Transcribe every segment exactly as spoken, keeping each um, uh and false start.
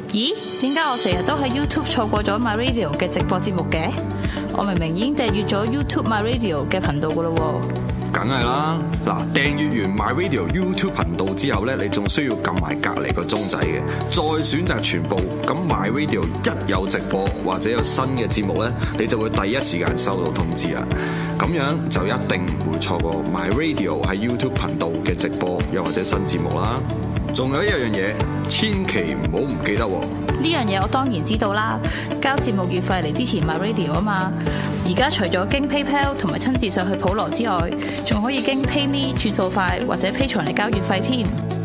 咦？點解我成日都喺 YouTube 錯過咗 My Radio 嘅直播節目嘅？我明明已經訂閱咗 YouTube My Radio 嘅頻道噶啦喎。 梗係啦，嗱，訂閱完 My Radio YouTube 頻道之後咧，你仲需要撳埋隔離個鐘仔嘅，再選擇全部。咁 My Radio 一有直播或者有新嘅節目咧，你就會第一時間收到通知啊！咁樣就一定唔會錯過 My Radio 喺 YouTube 頻道嘅直播又或者新節目啦。仲有一樣嘢，千祈唔好唔記得喎！ 呢樣嘢我當然知道啦，交節目月費嚟支持 My Radio 啊嘛。而家除咗經 PayPal 同埋親自上去普羅之外，仲可以經 PayMe 轉數快或者 Patreon嚟交月費添。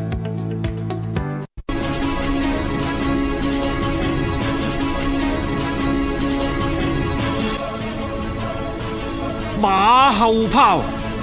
馬後炮。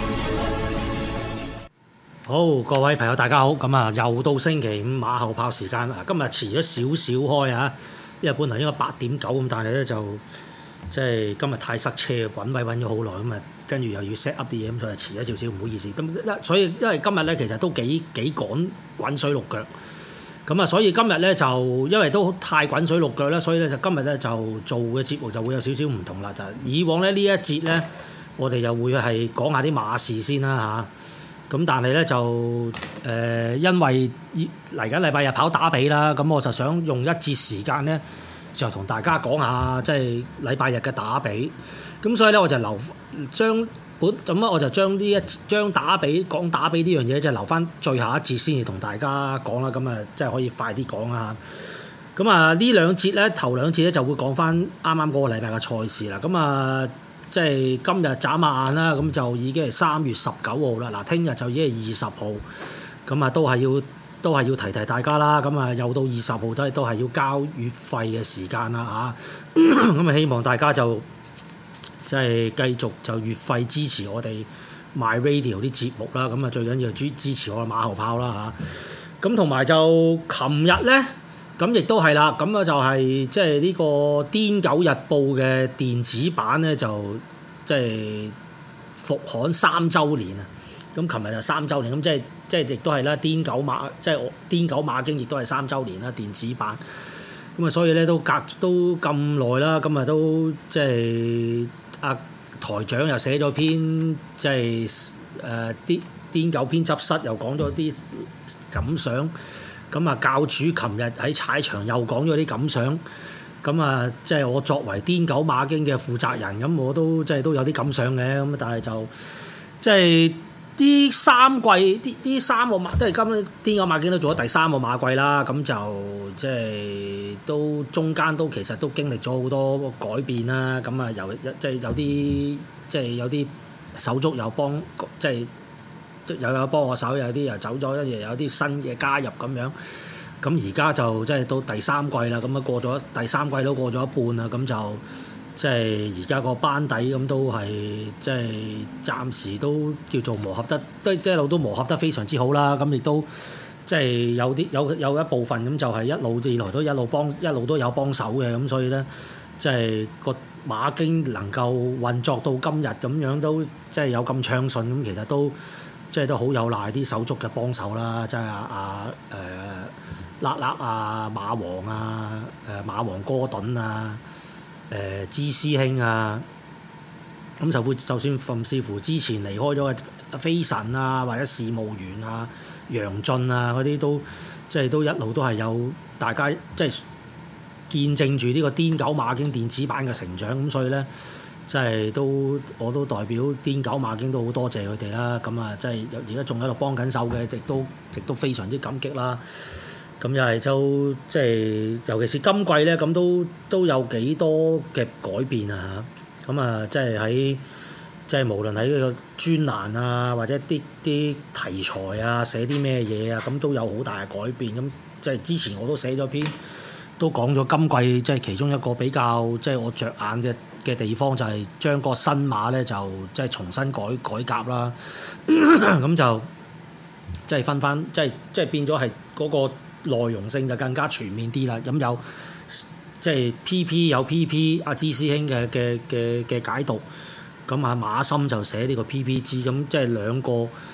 好，各位朋友大家好，咁啊又到星期五馬後炮時間啊！今日遲咗少少開啊，因為本來應該八點九咁，但係咧就即係今日太塞車，揾位揾咗好耐，咁啊跟住又要 set up 啲嘢，咁所以遲咗少少，唔好意思。咁一所以因為今日咧其實都幾幾趕滾水淥腳，咁啊所以今日咧就因為都太滾水淥腳咧，所以咧就今日咧就做嘅節目就會有少少唔同啦。就係以往咧呢一節咧，我哋又會係講下啲馬事先啦嚇。咁但係咧就誒、呃，因為嚟緊禮拜日跑打比啦，咁我就想用一節時間咧，就同大家講下即係禮拜日嘅打比。咁所以咧我就留將本咁啊，我就將呢一將打比講打比呢樣嘢，就留翻最後一節先至同大家講啦。咁啊，即係可以快啲講啦。咁啊，呢兩節咧，頭兩節咧就會講翻啱啱嗰個禮拜嘅賽事啦。咁啊〜即係今日眨下眼啦，咁就已經係三月十九號啦。嗱，聽日就已經係二十號，咁啊都係要都係要提提大家啦。咁啊又到二十號都都係要交月費嘅時間啦嚇。咁啊希望大家就即係繼續就月費支持我哋 My Radio 啲節目啦。咁啊最緊要支支持我嘅馬後炮啦嚇。咁同埋就琴日咧。咁亦都係啦，咁啊就係即係呢個《癲狗日報》嘅電子版咧，就即係復刊三週年啊！咁琴日就三週年，咁即係即係亦都係啦，《癲狗馬》即係《癲狗馬經》亦都係三週年啦，電子版。咁啊，所以咧都隔都咁耐啦，咁啊都即係阿台長又寫咗篇即係誒啲癲狗編輯室又講咗啲感想。咁啊，教主琴日喺踩場又講咗啲感想，咁啊，即係我作為癲狗馬經嘅負責人，咁我都即係都有啲感想嘅，咁但係就即係呢三季，啲呢三個馬，都係今癲狗馬經都做咗第三個馬季啦，咁就即係都中間都其實都經歷咗好多改變啦，咁啊，有即係有啲即係有啲手足又幫即係。又有幫我手，有啲又走咗，跟住有啲新嘅加入咁樣。咁而家就即係到第三季啦，咁啊過咗第三季都過咗一半啦，咁就即係而家個班底咁都係即係暫時都叫做磨合得，都即係一路都磨合得非常之好啦。咁亦都即係有啲有有一部分咁就係一路以來都一路幫一路都有幫手嘅，咁所以咧即係個馬經能夠運作到今日咁樣都即係有咁暢順，咁其實都。即係都好有賴啲手足嘅幫手啦，即係阿阿誒叻叻啊、馬王啊、誒馬王哥頓啊、誒、呃、芝師兄啊，咁就會就算甚至乎之前離開咗嘅飛神啊，或者事務員啊、楊俊啊嗰啲都即係都一路都係有大家即係見證住呢個癲狗馬經電子版嘅成長，咁所以咧。即係都我都代表癲狗馬經都好多謝佢哋啦，咁啊即係而家仲喺度幫緊手嘅，亦都亦都非常之感激啦。咁又係就即係尤其是今季咧，咁都都有幾多嘅改變啊嚇！咁啊即係喺即係無論喺呢個專欄啊，或者啲啲題材啊，寫啲咩嘢啊，咁都有好大嘅改變。咁即係之前我都寫咗篇，都講咗今季即係其中一個比較即係我着眼嘅。嘅地方就係將個新馬咧就即係重新改改革啦，咁就即係分翻，即係即係變咗係嗰個內容性就更加全面啲啦。咁有即係 P P 有 P P 阿芝師兄嘅嘅嘅嘅解讀，咁啊馬森就寫呢個 P P G，咁即係兩個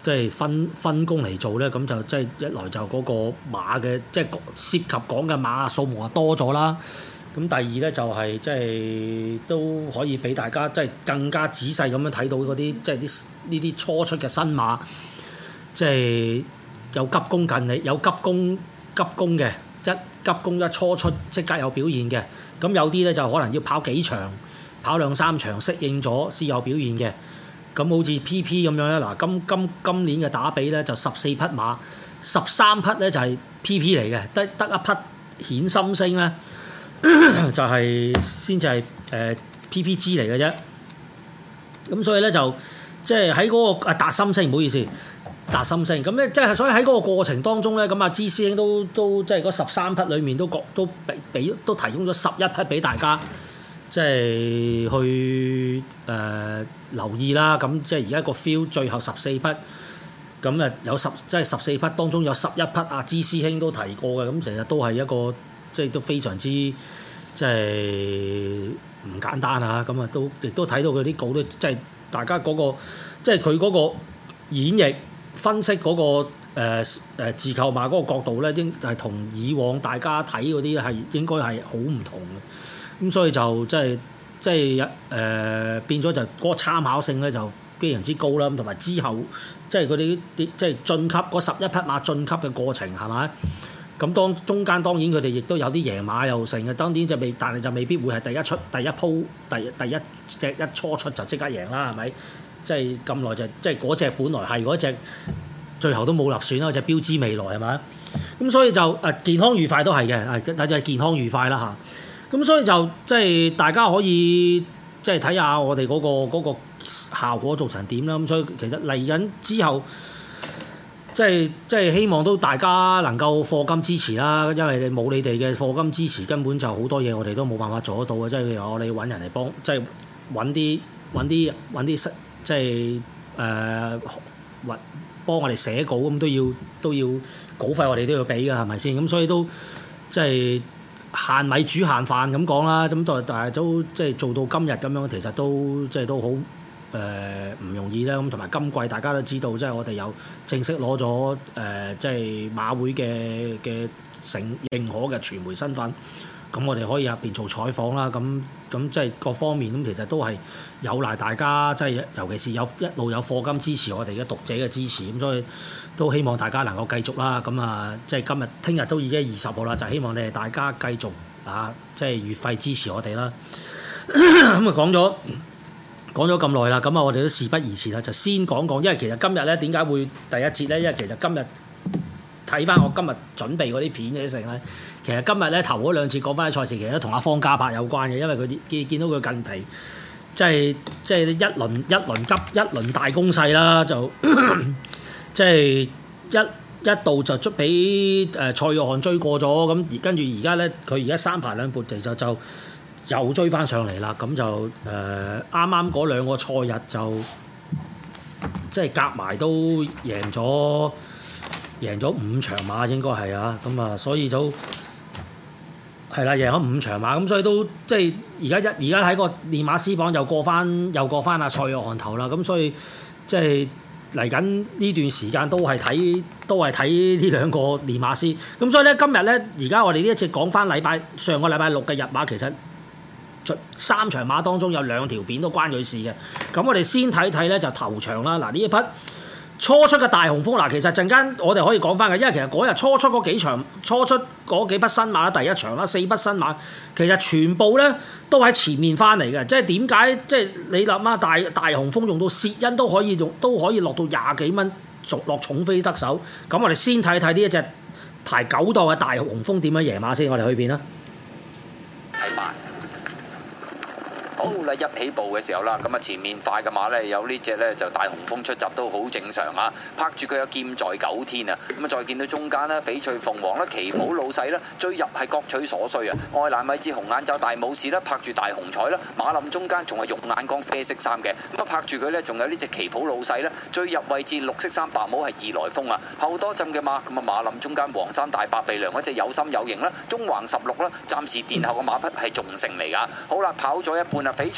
即係分分工嚟做咧，咁就即係一來就嗰個馬嘅即係涉及講嘅馬數目啊多咗啦。咁第二咧就係即係都可以俾大家即係更加仔細咁樣睇到嗰啲即係啲呢啲初出嘅新馬，即係有急功近利，有急功急功嘅一急功一初出即刻有表現嘅。咁有啲咧就可能要跑幾場，跑兩三場適應咗先有表現嘅。咁好似 P P 咁樣咧，嗱今今今年嘅打比咧就十四匹馬，十三匹咧就係 P P 嚟嘅，得得一匹顯心星咧。就係先至係誒 P P G 嚟嘅啫，咁所以咧就即係喺嗰個啊達心星，唔好意思，達心星咁咧，即係所以喺嗰個過程當中咧，咁啊芝師兄都都即係嗰十三匹裡面都各都俾俾都提供咗十一匹俾大家，即係去誒、呃、留意啦。咁即係而家個 feel 最後十四匹，咁啊有十即係十四匹當中有十一匹啊芝師兄都提過嘅，咁其實都係一個。即係都非常之即係唔簡單啊！咁啊都亦都睇到佢啲稿都即係大家嗰、嗰個即係佢嗰個演繹分析嗰、嗰個誒、呃、自購馬嗰個角度咧，應係同以往大家睇嗰啲係應該係好唔同嘅。咁所以就即係即係誒、呃、變咗就嗰個參考性咧就非常之高啦。咁同埋之後即係嗰啲啲即係晉級嗰十一匹馬晉級嘅過程係咪？咁當中間當然佢哋亦都有啲贏馬又成嘅，當然就未，但係就未必會係第一出第一鋪第第一隻一初出就即刻贏啦，係咪？即係咁耐就即係嗰隻本來係嗰隻，最後都冇立選啦，隻標誌未來係咪？咁所以就誒健康愉快都係嘅，誒但係健康愉快啦嚇。咁所以就即係大家可以即係睇下我哋嗰個嗰個效果做成點啦。咁所以其實嚟緊之後。即係即係希望都大家能夠課金支持啦，因為你冇你哋嘅課金支持，根本就好多嘢我哋都冇辦法做得到嘅。即係譬如我哋揾人嚟幫，即係揾啲揾啲揾啲即係誒揾幫我哋寫稿咁都要都要稿費，我哋都要俾㗎，係咪先？咁所以都即係限米煮限飯咁講啦。咁但但係都即係做到今日咁樣，其實都即係都好。誒唔、呃、容易啦，咁同埋今季大家都知道，即係我哋有正式攞咗誒，即係馬會嘅嘅承認可嘅傳媒身份，咁我哋可以入邊做採訪啦，咁咁即係各方面咁，其實都係有賴大家，即係尤其是有一路有課金支持我哋嘅讀者嘅支持，咁所以都希望大家能夠繼續啦，咁啊，即係今日聽日都已經二十號啦，就希望你哋大家繼續啊，即係月費支持我哋啦，咁啊講咗。講咗咁耐啦，咁啊我哋都事不宜遲啦，就先講講，因為其實今日咧點解會第一節咧？因為其實今日睇翻我今日準備嗰啲片嘅成咧，其實今日咧頭嗰兩次講翻啲賽事，其實都同阿方嘉柏有關嘅，因為佢見見到佢近期即係即係一輪一輪急一輪大攻勢啦，就即係一一度就捉俾誒蔡約翰追過咗，咁而跟住而家咧佢而家三排兩撥地就就。又追翻上嚟啦，咁就誒啱啱嗰兩個賽日就即係夾埋都贏咗贏咗五場馬應該係啊，咁啊所以就係啦，贏咗五場馬，咁所以都即係而家一而家喺個練馬師榜又過翻又過翻阿蔡約翰頭啦，咁所以即係嚟緊呢段時間都係睇都係睇呢兩個練馬師，咁所以咧今日咧而家我哋呢一次講翻禮拜上個禮拜六嘅日馬其實。三場馬當中有兩條片都關佢事嘅，咁我哋先睇睇咧就頭場啦。嗱呢一匹初出嘅大雄風，嗱其實陣間我哋可以講翻嘅，因為其實嗰日初出嗰幾場初出嗰幾匹新馬啦，第一場啦四匹新馬，其實全部咧都喺前面翻嚟嘅，即係點解即係你諗啊大大雄風用到薛恩都可以用都可以落到廿幾蚊，落重飛得手。咁我哋先睇睇呢一隻排九檔嘅大雄風點樣贏馬先，我哋去片啦。 係馬。好啦，一起步嘅時候啦，咁啊前面快嘅馬呢，有呢隻呢，就大雄風出閘都好正常啊，拍住佢有劍在九天啊，咁啊再見到中間呢，翡翠鳳凰啦，旗袍老細啦，追入係各取所需啊，愛蘭米芝紅眼罩大武士啦，拍住大紅彩啦，馬林中間仲係肉眼光啡色衫嘅，咁啊拍住佢呢，仲有呢隻旗袍老細啦，追入位置綠色衫白帽係義來風啊，後多浸嘅馬，咁啊馬林中間黃衫大白鼻梁嗰隻有心有型啦，中橫十六啦，暫時殿後嘅馬匹係仲勝嚟噶，好啦，跑咗一半啊，翡翠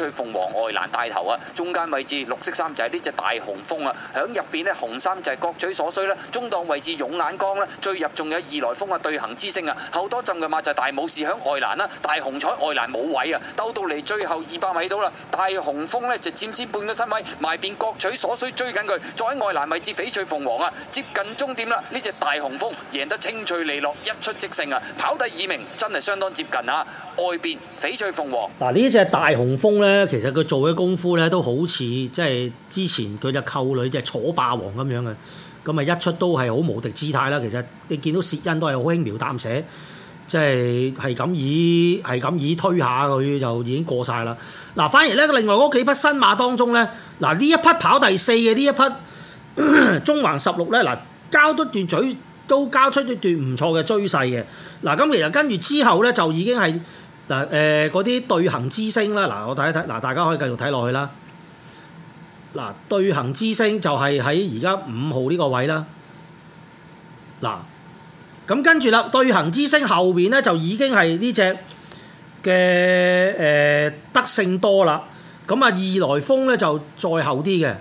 翠鳳凰外欄帶頭啊，中間位置綠色衫就係呢隻大雄風啊，響入邊呢，紅衫就係各取所需啦，中檔位置勇眼光啦，最入仲有二來風啊對行之星啊，後多浸嘅馬就係大武士響外欄啦，大紅彩外欄冇位啊，兜到嚟最後二百米到啦，大雄風呢就佔先半個身位，埋邊各取所需追緊佢，再喺外欄位置翡翠鳳凰啊，接近終點啦，呢隻大雄風贏得清脆利落，一出即勝啊，跑第二名真係相當接近啊，外邊翡翠鳳凰。 嗱呢隻大雄風咧，其實佢做嘅功夫咧都好似即係之前佢隻扣女隻楚霸王咁樣嘅，咁啊一出都係好無敵姿態啦。其實你見到薛恩都係好輕描淡寫，即係係咁以係咁以推下佢就已經過晒啦。嗱，反而咧另外嗰幾匹新馬當中咧，嗱呢一匹跑第四嘅呢一匹中環十六咧，嗱交多段嘴都交出一段唔錯嘅追勢嘅。嗱咁其實跟住之後咧就已經係。嗱誒嗰啲對行之星啦，嗱我睇一睇，嗱大家可以繼續睇落去啦。嗱對行之星就係喺而家五號呢個位啦。嗱咁跟住啦，對行之星後邊咧就已經係呢隻嘅誒德勝多啦。咁啊二來風咧就再後啲嘅。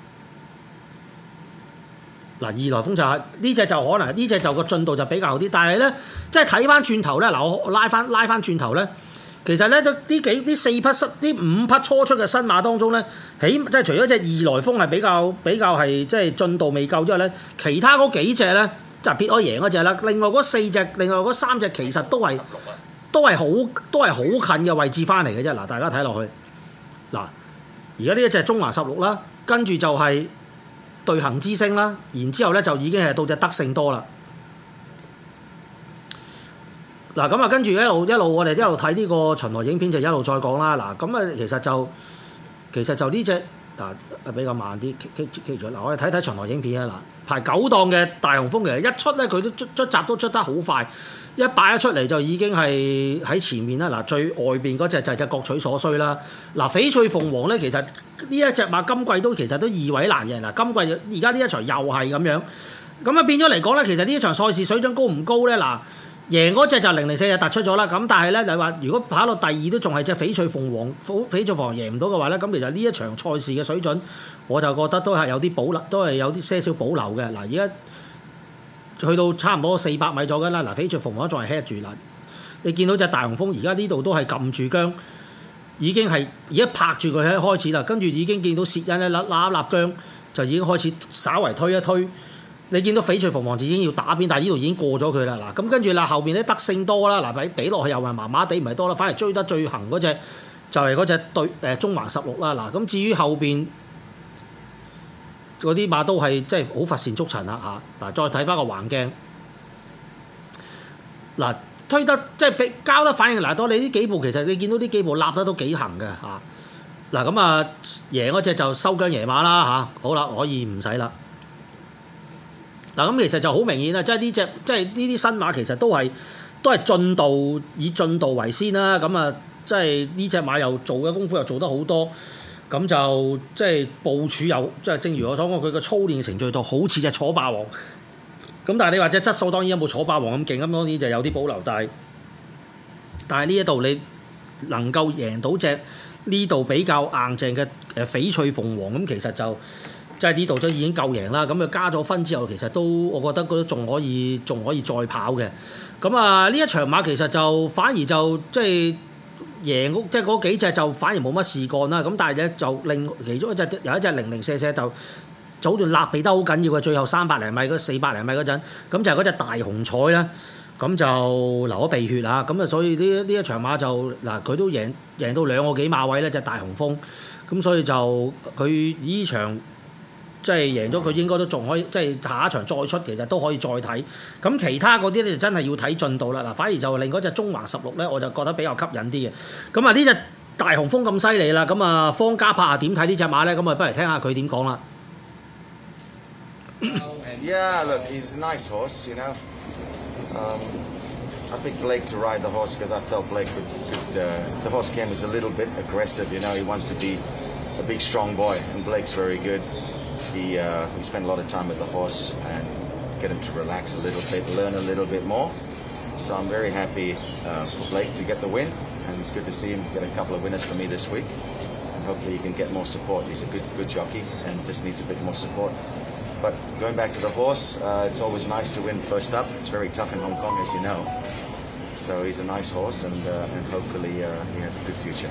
嗱二來風就係呢隻就可能呢隻就個進度就比較好啲，但係咧即係睇翻轉頭咧，嗱我拉翻拉翻轉頭咧。其實咧，呢幾呢四匹新呢五匹初出嘅新馬當中咧，起即係除咗隻二來風係比較比較係即係進度未夠之外咧，其他嗰幾隻咧就撇開贏嗰隻啦。另外嗰四隻，另外嗰三隻其實都係都係好都係好近嘅位置翻嚟嘅啫。嗱，大家睇落去，嗱，而家呢一隻中環十六啦，跟住就係對行之星啦，然之後咧就已經係到隻德勝多啦。嗱咁啊，跟住一路一路我哋一路睇呢個巡邏影片就一路再講啦。嗱咁啊，其實就其實就呢隻嗱比較慢啲，keep keep 住嗱，我哋睇睇巡邏影片啊。嗱，排九檔嘅大雄風其實一出咧，佢都出出閘都出得好快，一擺一出嚟就已經係喺前面啦。嗱，最外邊嗰隻就係隻各取所需啦。嗱，翡翠鳳凰咧，其實呢一隻馬今季都其實都二位難贏。嗱，今季而家呢一場又係咁樣，咁啊變咗嚟講咧，其實呢一場賽事水準高唔高咧？嗱。贏嗰隻就零零四就突出咗啦，咁但係咧你話如果跑到第二都仲係隻翡翠鳳凰，翡翠鳳凰贏唔到嘅話咧，咁其實呢一場賽事嘅水準，我就覺得都係有啲保留，都係有啲些少保留嘅。嗱，而家去到差唔多四百米左右啦，嗱翡翠鳳凰仲係 head 住啦，你見到隻大雄風而家呢度都係撳住姜，已經係而家拍住佢喺開始啦，跟住已經見到薛恩咧揦揦一揦姜，就已經開始稍為推一推。你見到翡翠鳳凰就已經要打邊，但係呢度已經過咗佢啦。嗱，咁跟住啦，後邊咧德勝多啦，嗱俾俾落去又係麻麻地，唔係多啦，反而追得最行嗰隻就係嗰隻對誒中環十六啦。嗱，咁至於後邊嗰啲馬都係即係好乏善足陳啦嚇。嗱，再睇翻個橫鏡，嗱推得即係俾交得反應嗱多，你呢幾步其實你見到呢幾步立得都幾行嘅嚇。嗱咁啊贏嗰隻就收姜贏馬啦嚇。好啦，可以唔使啦。嗱咁其實就好明顯啦，即係呢隻即係呢啲新馬其實都係都係進度以進度為先啦。咁啊，即係呢隻馬又做嘅功夫又做得好多，咁就即係部署又即係正如我所講，佢個操練程序度好似隻楚霸王。咁但係你話隻質素當然有冇楚霸王咁勁，咁當然就有啲保留。但係但係呢一度你能夠贏到隻呢度比較硬淨嘅誒翡翠鳳凰，咁其實就〜即係呢度都已經夠贏啦，咁佢加咗分之後，其實都我覺得都仲可以，仲可以再跑嘅。咁啊，呢一場馬其實就反而就即係贏，即係嗰幾隻就反而冇乜事幹啦。咁但係咧就另其中一隻有一隻零零舍舍就早段立避得好緊要嘅，最後三百零米嗰四百零米嗰陣，咁就係嗰隻大紅彩啦。咁就流咗鼻血啊！咁啊，所以呢呢一場馬就嗱，佢都贏贏到兩個幾馬位咧，隻大紅風。咁所以就佢呢場。即係贏咗佢應該都仲可以，即係下一場再出其實都可以再睇。咁其他嗰啲咧就真係要睇進度啦。嗱，反而就令嗰隻中環十六咧，我就覺得比較吸引啲嘅。咁啊，呢隻大雄風咁犀利啦。咁啊，方家柏點睇呢隻馬咧？咁啊，不如聽下佢點講啦。 Yeah, look, he's a nice horse, you know. Um, I picked Blake to ride the horse because I felt Blake could, could uh, the horse came as a little bit aggressive, you know. He wants to be a big, strong boy, and Blake's very good. He, uh, we spent a lot of time with the horse and get him to relax a little bit, learn a little bit more. So I'm very happy uh, for Blake to get the win, and it's good to see him get a couple of winners for me this week. hopefully he can get more support. He's a good good jockey and just needs a bit more support. But going back to the horse, uh, it's always nice to win first up. It's very tough in Hong Kong, as you know. So he's a nice horse, and uh, and hopefully uh, he has a good future.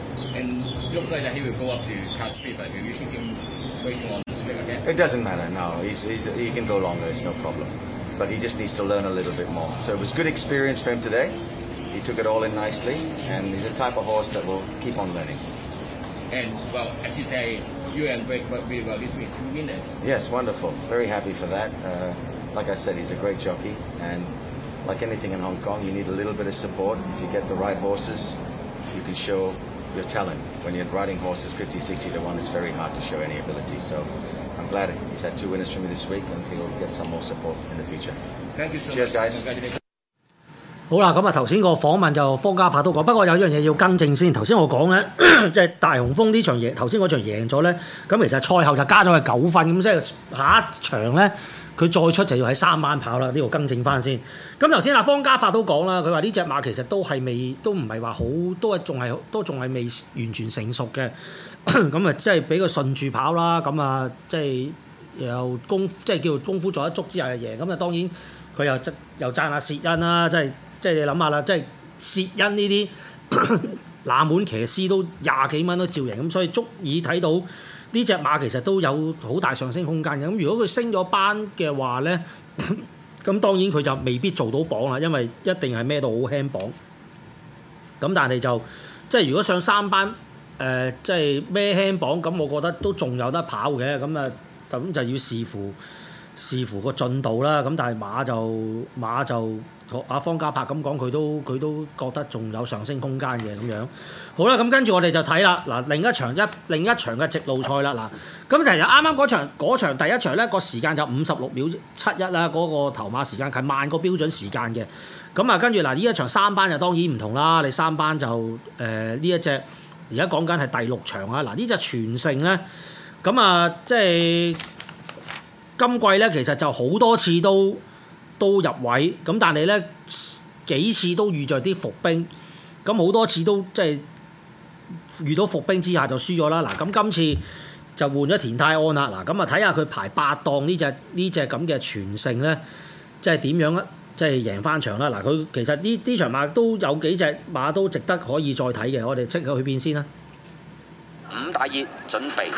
And it looks like that he will go up to Cal Speed, but will you keep him waiting on the stick again? It doesn't matter. No, he's, he's he can go longer. It's no problem. But he just needs to learn a little bit more. So it was good experience for him today. He took it all in nicely, and he's the type of horse that will keep on learning. And, well, as you say, you and Blake worked really well this week, two winners. Yes, wonderful. Very happy for that. Uh, like I said, he's a great jockey, and like anything in Hong Kong, you need a little bit of support. If you get the right horses, you can show your talent. When you're riding horses fifty, sixty to one, it's very hard to show any ability. So I'm glad he's had two winners for me this week, and he'll get some more support in the future. Thank you so Cheers, much. guys. 好啦，咁啊頭先個訪問就方嘉柏都講，不過有一樣嘢要更正先。頭先我講咧，即係大雄峰呢場贏，頭先嗰場贏咗咧，咁其實賽後就加咗佢九分，咁即係下一場咧佢再出就要喺三班跑啦。呢度更正翻先。咁頭先阿方嘉柏都講啦，佢話呢隻馬其實都係未，都唔係話好，都係仲係都仲係未完全成熟嘅。咁啊，即係俾佢順住跑啦。咁啊，即係又功即係叫做功夫做一足之後就贏。咁啊，當然佢又又讚下薛恩啦，即係。即係你諗下啦，即係薛恩呢啲冷門騎師都廿幾蚊都照贏，咁所以足以睇到呢隻馬其實都有好大上升空間嘅。咁如果佢升咗班嘅話咧，咁當然佢就未必做到榜啦，因為一定係孭到好輕磅。咁但係就即係如果上三班誒、呃，即係孭輕磅，咁我覺得都仲有得跑嘅。咁啊，咁就要視乎視乎個進度啦。咁但係馬就馬就。阿方嘉柏咁講，佢都佢都覺得仲有上升空間嘅咁樣。好啦，咁跟住我哋就睇啦。嗱，另一場一另一場嘅直路賽啦。嗱，咁其實啱啱嗰場嗰場第一場咧個時間就五十六秒七一啦，嗰個頭馬時間係慢過標準時間嘅。咁啊，跟住嗱呢一場三班就當然唔同啦。你三班就誒呢一隻而家講緊係第六場啊。嗱呢隻全勝咧，咁啊即係今季咧其實就好多次都。都入位，咁但係咧幾次都遇着啲伏兵，咁好多次都即係遇到伏兵之下就輸咗啦。嗱，咁今次就換咗田泰安啦。嗱，咁啊睇下佢排八檔呢隻呢隻咁嘅全勝咧，即係點樣咧？即係贏翻場啦。嗱，佢其實呢呢場馬都有幾隻馬都值得可以再睇嘅。我哋即刻去邊先啦。 五大熱準備。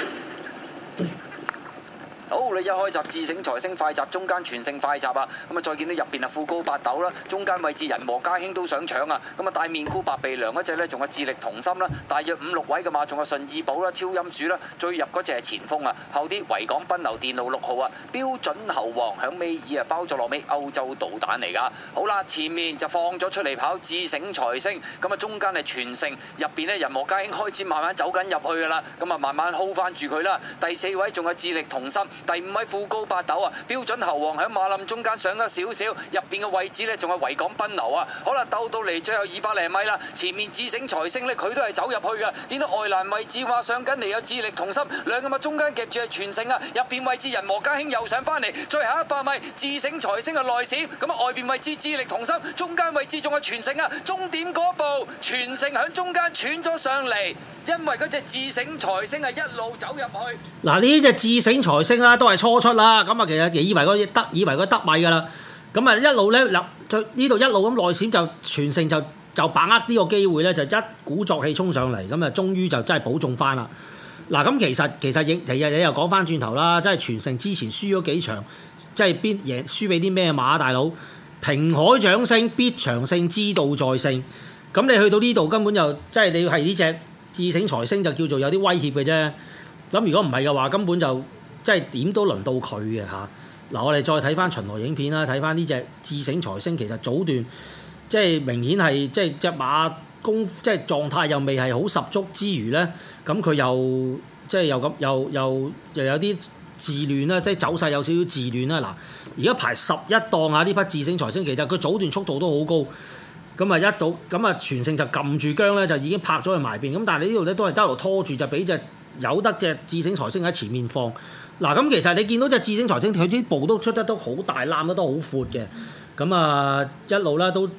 好，你一開閘智醒財星快閘，中間全勝快閘啊！咁啊，再見到入邊啊富高八斗啦，中間位置人和家興都想搶啊！咁啊，大面箍白鼻梁嗰隻呢，仲有智力同心啦，大約五六位嘅馬，仲有順意寶啦、超音鼠啦，最入嗰隻係前鋒啊，後啲維港賓流電路六號啊，標準猴王響尾二啊，包咗落尾歐洲導彈嚟㗎。好啦，前面就放咗出嚟跑智醒財星，咁啊中間係全勝，入邊呢，人和家興開始慢慢走緊入去㗎啦，咁啊慢慢 hold 翻住佢啦。第四位仲有智力同心。第五位富高八斗啊，標準猴王喺馬林中間上咗少少，入邊嘅位置呢仲係維港賓流啊。好啦，鬥到嚟最後二百零米啦，前面智醒財星呢，佢都係走入去㗎。見到外欄位置話上緊嚟有智力同心，兩個馬中間夾住係全勝啊，入邊位置人和家興又上翻嚟，最後一百米智醒財星係內閃，咁啊外邊位置智力同心，中間位置仲係全勝啊，終點嗰步全勝喺中間喘咗上嚟，因為嗰隻智醒財星係一路走入去。 嗱呢隻智醒財星啦，都係初出啦，咁啊其實以為佢得以為佢得米㗎啦，咁啊一路咧立呢度一路咁內閃就全勝就就把握呢個機會咧，就一鼓作氣衝上嚟，咁啊終於就真係保中翻啦。嗱咁其實其實亦其實你又講翻轉頭啦，即係全勝之前輸咗幾場，即係邊贏輸俾啲咩馬大佬？平海掌聲必長勝，知道在勝。咁你去到呢度根本就即係你係呢隻智醒財星就叫做有啲威脅嘅啫。咁如果唔係嘅話，根本就即係點都輪到佢嘅嚇。嗱，我哋再睇翻巡邏影片啦，睇翻呢隻智醒財星，其實早段即係明顯係即係隻馬功即係狀態又未係好十足之餘咧，咁佢又即係又咁又又又有啲自亂啦，即係走勢有少少自亂啦。嗱，而家排十一檔啊，呢匹智醒財星其實佢早段速度都好高。咁啊一到咁啊全勝就撳住姜咧，就已經拍咗去埋邊。咁但係呢度咧都係一路拖住，就俾隻有得隻智醒財星喺前面放。嗱咁其實你見到隻智醒財星佢啲步都出得都好大，攬得都好闊嘅。咁啊一路咧都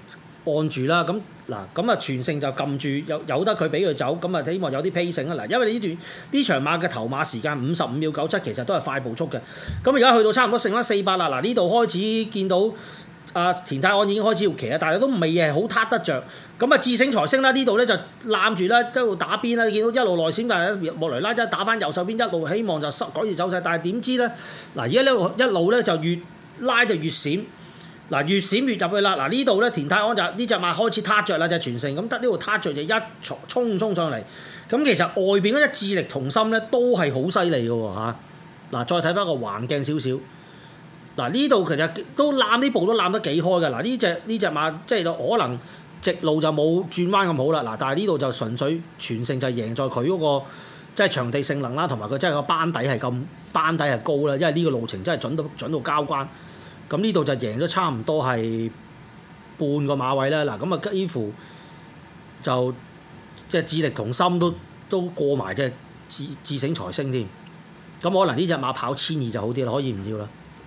按住啦。咁嗱咁啊全勝就撳住，有有得佢俾佢走，咁啊希望有啲 pacing 啊嗱，因為呢段呢場馬嘅頭馬時間五十五秒九七，其實都係快步速嘅。咁而家去到差唔多剩翻四百啦，嗱呢度開始見到。啊，田泰安已經開始要騎啦，但係都未係好撻得着。咁啊，智勝財星啦，呢度咧就攬住啦，一路打邊啦，見到一路內閃，但係莫雷拉一打翻右手邊，一路希望就改善走勢，但係點知咧？嗱，而家呢路一路咧就越拉就越閃，嗱越閃越入去啦。嗱呢度咧田泰安就呢隻馬開始撻着啦，就全勝咁得呢度撻着就一衝衝衝上嚟。咁其實外邊嗰隻智力同心咧都係好犀利嘅喎嚇。嗱，再睇翻個橫鏡少少。嗱呢度其實都攬呢步都攬得幾開㗎，嗱呢隻呢隻馬即係可能直路就冇轉彎咁好啦，嗱但係呢度就純粹全勝就贏在佢嗰個即係場地性能啦，同埋佢真係個班底係咁班底係高啦，因為呢個路程真係準到準到交關，咁呢度就贏咗差唔多係半個馬位啦，嗱咁啊幾乎就即係智力同心都都過埋隻智智勝財星添，咁可能呢隻馬跑千二就好啲啦，可以唔要啦。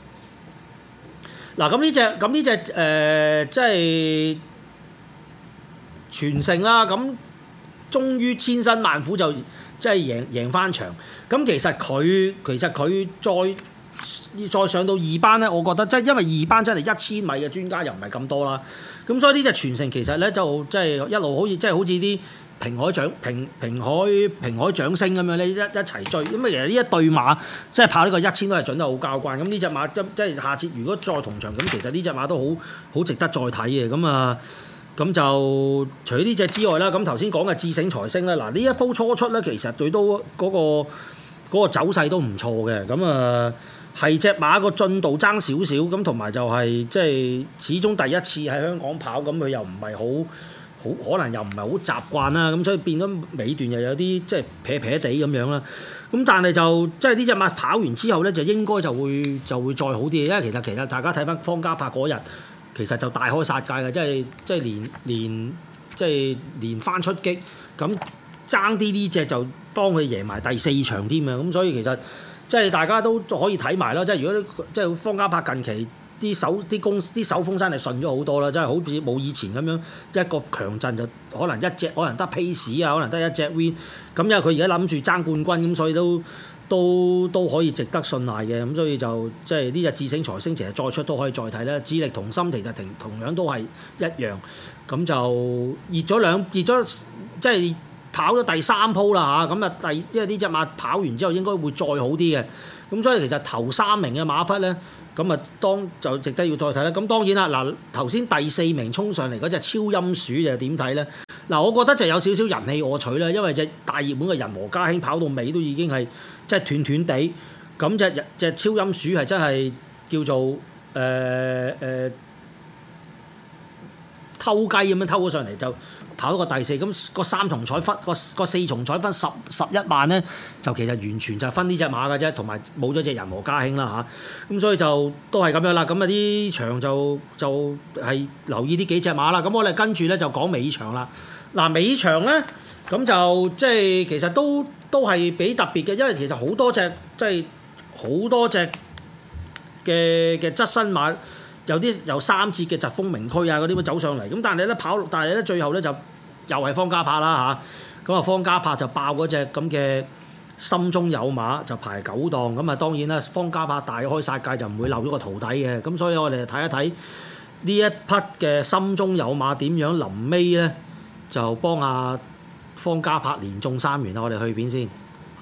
嗱咁呢隻咁呢隻誒即係全勝啦，咁終於千辛萬苦就即係贏贏翻場。咁其實佢其實佢再再上到二班咧，我覺得即係因為二班真係一千米嘅專家又唔係咁多啦。咁所以呢隻全勝其實咧就即係一路好似即係好似啲平海掌平平海平海掌聲咁樣咧一一齊追。咁啊其實呢一對馬即係跑呢個一千都係準得好交關。咁呢隻馬即即係下次如果再同場咁，其實呢隻馬都好好值得再睇嘅。咁啊咁就除咗呢隻之外啦，咁頭先講嘅智勝財星咧，嗱呢一鋪初出咧，其實佢都嗰個嗰個走勢都唔錯嘅。咁啊係隻馬個進度爭少少，咁同埋就係即係始終第一次喺香港跑，咁佢又唔係好。好可能又唔係好習慣啦，咁所以變咗尾段又有啲即係撇撇地咁樣啦。咁但係就即係呢隻馬跑完之後咧，就應該就會就會再好啲，因為其實其實大家睇翻方嘉柏嗰日，其實就大開殺戒嘅，即係即係連連即係連番出擊，咁爭啲呢隻就幫佢贏埋第四場添啊！咁所以其實即係大家都可以睇埋啦。即係如果即係方嘉柏近期。啲手啲公啲手風山係順咗好多啦，真係好似冇以前咁樣一個強陣就可能一隻可能得 pace 啊，可能得一隻 win。咁因為佢而家諗住爭冠軍，咁所以都都都可以值得信賴嘅。咁所以就即係呢隻智勝財星，其實再出都可以再睇啦。智力同心其實同同樣都係一樣。咁就熱咗兩熱咗，即係跑咗第三鋪啦嚇。咁啊第即係呢隻馬跑完之後應該會再好啲嘅。咁所以其實頭三名嘅馬匹咧。咁啊，當就值得要再睇啦。咁當然啦，嗱頭先第四名衝上嚟嗰隻超音鼠就點睇咧？嗱，我覺得就有少少人氣我取啦，因為隻大熱門嘅人和家興跑到尾都已經係即係斷斷地，咁隻隻超音鼠係真係叫做誒誒、呃呃、偷雞咁樣偷咗上嚟就。跑到個第四，咁個三重彩分個個四重彩分十十一萬咧，就其實完全就係分呢隻馬嘅啫，同埋冇咗隻人和家興啦嚇，咁所以就都係咁樣啦。咁啊啲場就就係留意呢幾隻馬啦。咁我哋跟住咧就講尾場啦。嗱尾場咧，咁就即係其實都都係幾特別嘅，因為其實好多隻即係好多隻嘅嘅側身馬。有啲有三節嘅疾風名區啊嗰啲咁走上嚟，咁但係咧跑，但係咧最後咧就又係方嘉柏啦嚇，咁啊方嘉柏就爆嗰隻咁嘅心中有馬就排九檔，咁啊當然啦方嘉柏大開殺戒就唔會漏咗個徒弟嘅，咁所以我哋睇一睇呢一匹嘅心中有馬點樣臨尾咧就幫阿方嘉柏連中三元啦，我哋去片先，誒、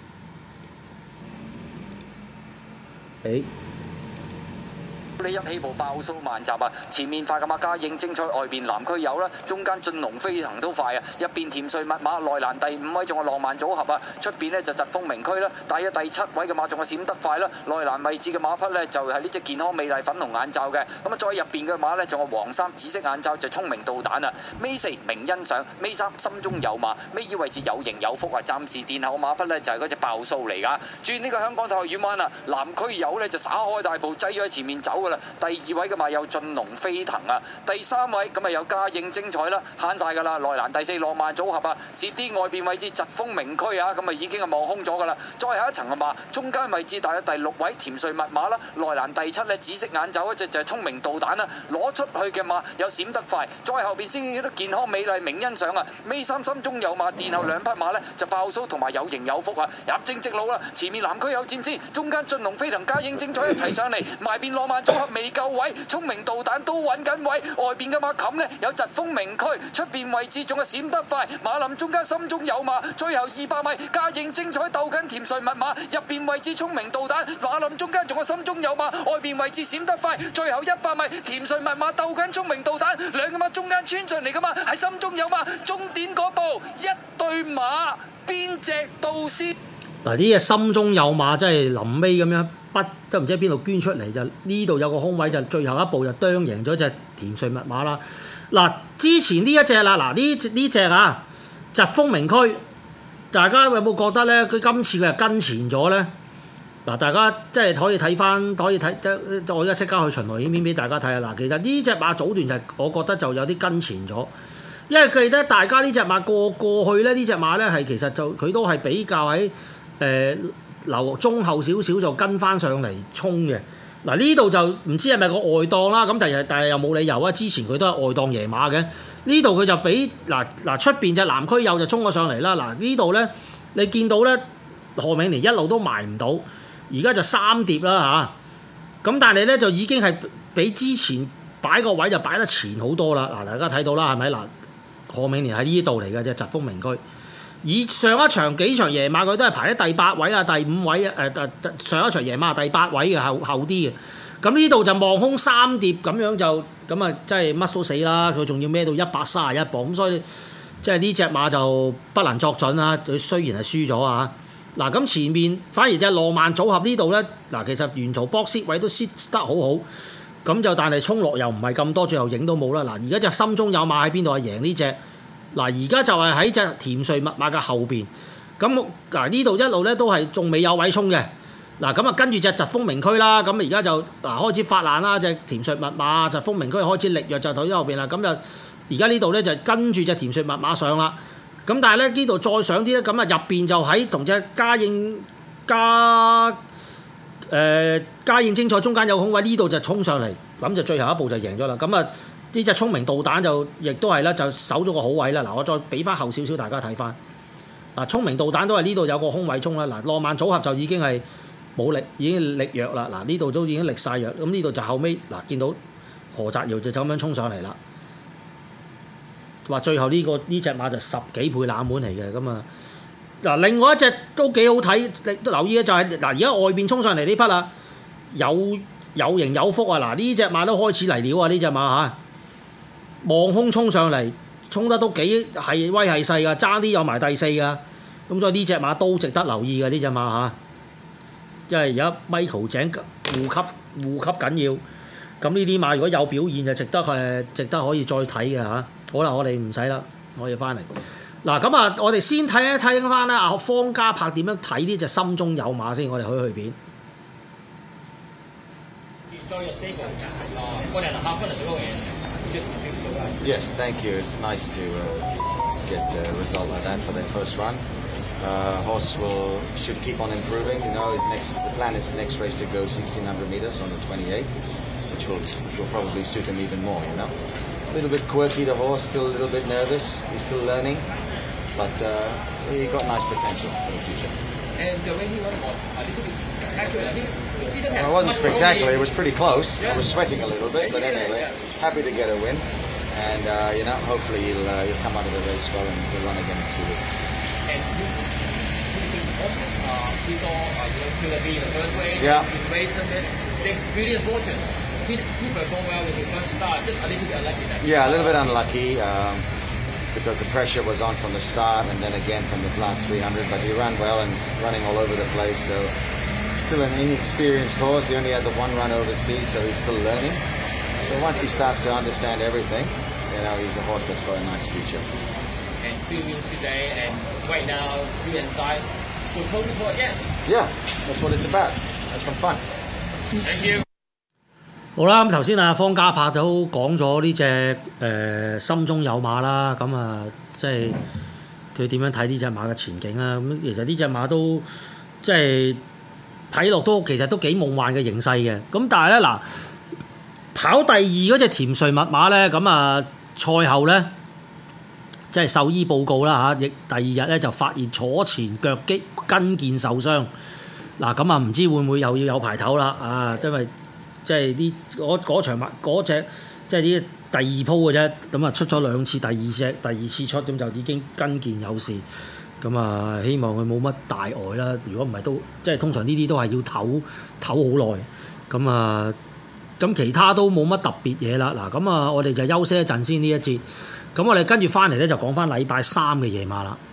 欸。 呢一起步爆數萬集啊！前面快嘅馬家應精彩，外邊南區有啦，中間進龍飛行都快啊！一邊甜瑞密馬內欄第五位仲有浪漫組合啊！出邊呢就疾風名區啦，大約第七位嘅馬仲有閃得快啦，內欄位置嘅馬匹呢就係呢隻健康美麗粉紅眼罩嘅，咁啊再入邊嘅馬呢仲有黃衫紫色眼罩就聰明導彈啊！尾四明欣賞，尾三心中有馬，尾二位置有型有福啊！暫時殿後馬匹呢就係嗰隻爆數嚟㗎，轉呢個香港太學院灣啊，南區有呢就耍開大步擠咗喺前面走㗎啦。 啦。第二位嘅馬有進龍飛騰啊，第三位咁啊有嘉應精彩啦，慳晒㗎啦。內欄第四浪漫組合啊，蝕啲外邊位置疾風明區啊，咁啊已經係望空咗㗎啦。再下一層嘅馬，中間位置大約第六位甜瑞密碼啦，內欄第七咧紫色眼走一隻就係聰明導彈啦，攞出去嘅馬有閃得快，再後邊先見到健康美麗明欣賞啊，尾三心中有馬，殿後兩匹馬咧就爆蘇同埋有型有福啊，入正直路啦，前面南區有佔先，中間進龍飛騰嘉應精彩一齊上嚟，埋邊浪漫組合未夠位，聰明導彈都揾緊位，外邊嘅馬冚呢有疾風明區，出邊位置仲係閃得快，馬林中間心中有馬，最後二百米嘉應精彩鬥緊甜瑞密碼，入邊位置聰明導彈，馬林中間仲係心中有馬，外邊位置閃得快，最後一百米甜瑞密碼鬥緊聰明導彈，兩個馬中間穿上嚟㗎嘛，係心中有馬，終點嗰步一對馬邊隻到先？ 嗱，呢隻心中有馬真係臨尾咁樣不都唔知喺邊度捐出嚟，就呢度有個空位，就最後一步就啄贏咗隻甜瑞密碼啦。嗱，之前呢一隻啦，嗱呢呢隻啊疾風明區，大家有冇覺得咧？佢今次佢係跟前咗咧？嗱，大家即係可以睇翻，可以睇，我而家即刻去巡邏影片俾大家睇下。嗱，其實呢隻馬早段就係我覺得就有啲跟前咗，因為記得大家呢隻馬過過去咧，呢隻馬咧係其實就佢都係比較喺誒留中後少少就跟翻上嚟衝嘅。嗱，呢度就唔知係咪個外檔啦，咁但係但係又冇理由啊！之前佢都係外檔贏馬嘅，呢度佢就俾嗱嗱出邊隻南區友就衝咗上嚟啦。嗱呢度咧你見到咧何永年一路都埋唔到。而家就三碟啦嚇，咁但係咧就已經係比之前擺個位就擺得前好多啦。嗱，大家睇到啦，係咪嗱？何永年喺呢度嚟嘅啫，疾風明區。以上一場幾場夜馬佢都係排喺第八位啊、第五位啊，誒、呃、誒上一場夜馬第八位嘅後後啲嘅。咁呢度就望空三碟咁樣就咁啊，真係乜都死啦！佢仲要孭到一百三十一磅，咁所以即係呢隻馬就不能作準啊！佢雖然係輸咗啊。嗱，咁前面反而隻浪漫組合呢度咧，嗱其實沿途 box 位都 set 得好好，咁就但係衝落又唔係咁多，最後影都冇啦。嗱，而家隻心中有馬喺邊度啊？贏呢隻，嗱而家就係喺隻甜瑞密碼嘅後邊，咁嗱呢度一路咧都係仲未有位衝嘅，嗱咁啊跟住隻疾風明區啦，咁而家就嗱開始發難啦，隻甜瑞密碼疾風明區開始力弱就喺後邊啦，咁就而家呢度咧就跟住隻甜瑞密碼上啦。咁但係咧呢度再上啲咧，咁啊入邊就喺同隻嘉應嘉誒嘉應精彩中間有空位，呢度就衝上嚟，咁就最後一步就贏咗啦。咁啊呢隻聰明導彈就亦都係啦，就守咗個好位啦。嗱，我再俾翻後少少大家睇翻。嗱，聰明導彈都係呢度有個空位衝啦。嗱，浪漫組合就已經係冇力，已經力弱啦。嗱，呢度都已經力晒弱，咁呢度就後尾嗱見到何澤堯就咁樣衝上嚟啦。話最後呢、這個呢隻馬就十幾倍冷門嚟嘅咁啊！嗱，另外一隻都幾好睇，留意嘅就係、是、嗱，而家外邊衝上嚟呢匹啦，有有型有福啊！嗱，呢隻馬都開始嚟料啊！呢隻馬嚇望空衝上嚟，衝得都幾係威係勢噶，爭啲有埋第四噶，咁所以呢隻馬都值得留意嘅呢隻馬嚇，即係而家 Michael 井護級護級緊要，咁呢啲馬如果有表現就值得誒，值得可以再睇嘅嚇。好啦，我哋唔使啦，我要翻嚟。嗱咁啊，我哋先睇一睇翻啦，阿方嘉柏點樣睇呢隻心中有馬先，我哋去去片。 Yes, thank you. It's nice to uh, get a result like that for their first run. Uh, horse will should keep on improving. You know, his next the plan is the next race to go sixteen hundred meters on the twenty-eighth, which will which will probably suit him even more. You know. A little bit quirky, the horse, still a little bit nervous. He's still learning, but uh, he got nice potential for the future. And the way he won was a little bit spectacular. I think he didn't have. Well, it wasn't spectacular. It was pretty close. Yeah. I was sweating a little bit, but anyway, happy to get a win. And uh, you know, hopefully he'll uh, he'll come out of the race well and he'll run again in two weeks. And you, you horses, uh, we saw uh, you know, Killer B in the first race. Yeah. In race this six Beauty and Fortune. He, he performed well with the first start, just a little bit unlucky. That yeah, a little bit unlucky um, because the pressure was on from the start and then again from the last three hundred. But he ran well and running all over the place. So still an inexperienced horse. He only had the one run overseas, so he's still learning. So once he starts to understand everything, you know, he's a horse that's got a nice future. And three wins today, and right now, you and size go toe to toe again. Yeah, that's what it's about. Have some fun. Thank you. 好啦，咁頭先啊方家柏都講咗呢隻誒心中有馬啦，咁啊即係佢點樣睇呢隻馬嘅前景啊？咁其實呢隻馬都即係睇落都其實都幾夢幻嘅形勢嘅。咁但係咧嗱，跑第二嗰隻甜睡密碼咧，咁啊賽後咧即係獸醫報告啦嚇，亦第二日咧就發現左前腳肌筋腱受傷。嗱咁啊唔知會唔會又要有排唞啦啊？因為即係啲嗰嗰場馬嗰隻即係啲第二鋪嘅啫，咁啊出咗兩次，第二隻第二次出咁就已經筋腱有事，咁啊希望佢冇乜大礙啦。如果唔係都即係通常呢啲都係要唞唞好耐，咁啊咁其他都冇乜特別嘢啦。嗱咁啊我哋就休息一陣先呢一節，咁我哋跟住翻嚟咧就講翻禮拜三嘅夜馬啦。